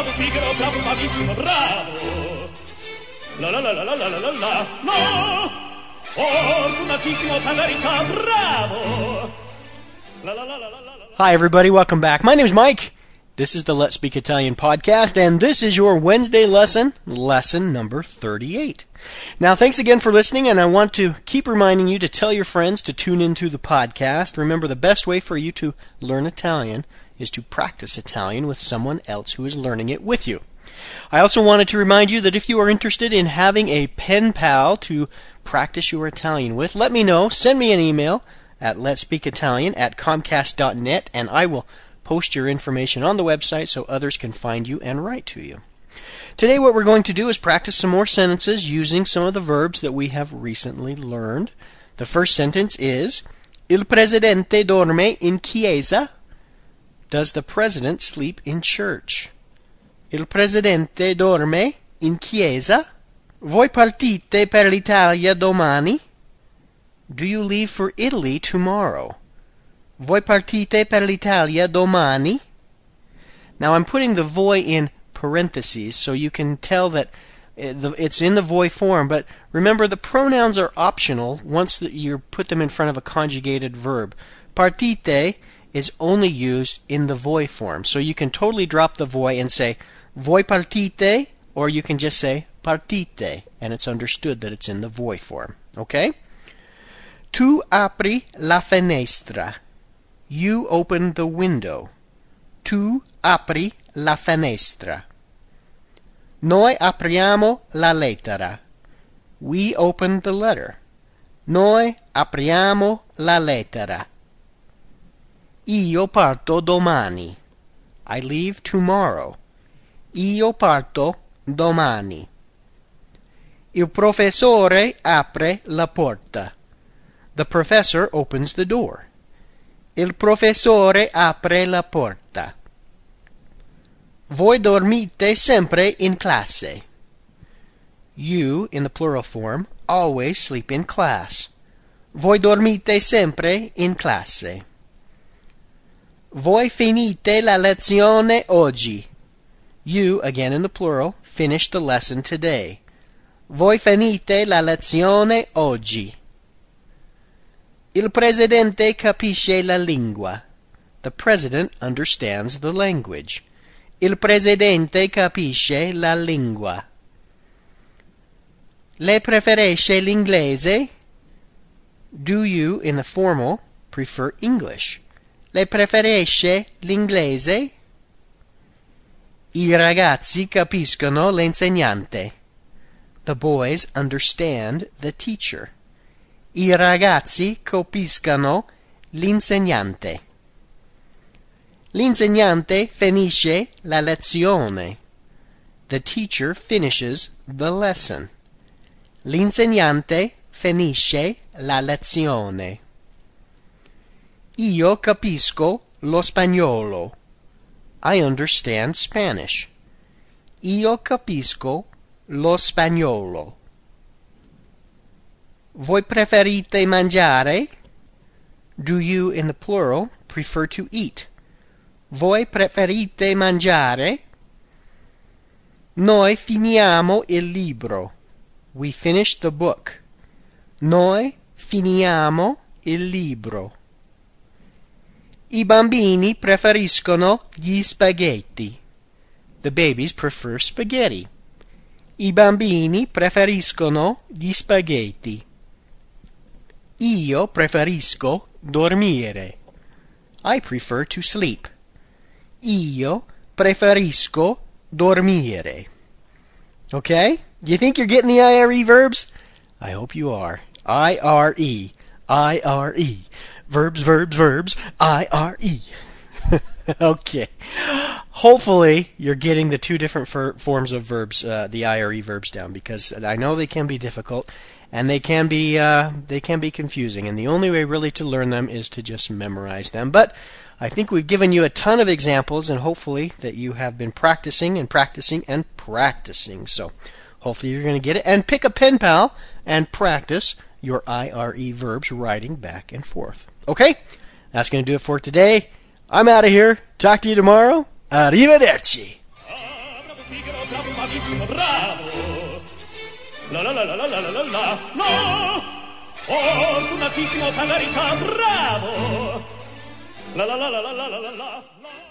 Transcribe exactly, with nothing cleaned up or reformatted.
bravo, pigro, bravo, bravissimo, bravo. La la la la la la la la la. No! Fortunatissimo, per verità, bravo. La la la la la la la. Hi, everybody. Welcome back. My name's Mike. This is the Let's Speak Italian podcast, and this is your Wednesday lesson, lesson number thirty-eight. Now, thanks again for listening, and I want to keep reminding you to tell your friends to tune into the podcast. Remember, the best way for you to learn Italian is to practice Italian with someone else who is learning it with you. I also wanted to remind you that if you are interested in having a pen pal to practice your Italian with, let me know. Send me an email at letspeakitalian at comcast dot net, and I will post your information on the website so others can find you and write to you. Today what we're going to do is practice some more sentences using some of the verbs that we have recently learned. The first sentence is, Il presidente dorme in chiesa. Does the president sleep in church? Il presidente dorme in chiesa. Voi partite per l'Italia domani? Do you leave for Italy tomorrow? Voi partite per l'Italia domani? Now I'm putting the voi in parentheses so you can tell that it's in the voi form, but remember the pronouns are optional once you put them in front of a conjugated verb. Partite is only used in the voi form, so you can totally drop the voi and say voi partite, or you can just say partite, and it's understood that it's in the voi form. Okay? Tu apri la finestra. You open the window. Tu apri la finestra. Noi apriamo la lettera. We open the letter. Noi apriamo la lettera. Io parto domani. I leave tomorrow. Io parto domani. Il professore apre la porta. The professor opens the door. Il professore apre la porta. Voi dormite sempre in classe. You, in the plural form, always sleep in class. Voi dormite sempre in classe. Voi finite la lezione oggi. You, again in the plural, finish the lesson today. Voi finite la lezione oggi. Il presidente capisce la lingua. The president understands the language. Il presidente capisce la lingua. Lei preferisce l'inglese? Do you, in the formal, prefer English? Lei preferisce l'inglese? I ragazzi capiscono l'insegnante. The boys understand the teacher. I ragazzi capiscono l'insegnante. L'insegnante finisce la lezione. The teacher finishes the lesson. L'insegnante finisce la lezione. Io capisco lo spagnolo. I understand Spanish. Io capisco lo spagnolo. Voi preferite mangiare? Do you, in the plural, prefer to eat? Voi preferite mangiare? Noi finiamo il libro. We finish the book. Noi finiamo il libro. I bambini preferiscono gli spaghetti. The babies prefer spaghetti. I bambini preferiscono gli spaghetti. Io preferisco dormire. I prefer to sleep. Io preferisco dormire. Okay? Do you think you're getting the I R E verbs? I hope you are. I R E. I R E. Verbs, verbs, verbs. I R E. Okay. Hopefully, you're getting the two different fer- forms of verbs, uh, the I R E verbs down, because I know they can be difficult, and they can be uh, they can be confusing, and the only way really to learn them is to just memorize them. But I think we've given you a ton of examples, and hopefully that you have been practicing and practicing and practicing. So hopefully you're going to get it, and pick a pen pal and practice your I R E verbs writing back and forth. Okay? That's going to do it for today. I'm out of here. Talk to you tomorrow. Arrivederci. Figaro bravissimo, bravo. La la la la la la la la. No! Fortunatissimo Tangarita, bravo. La la la la la la la la.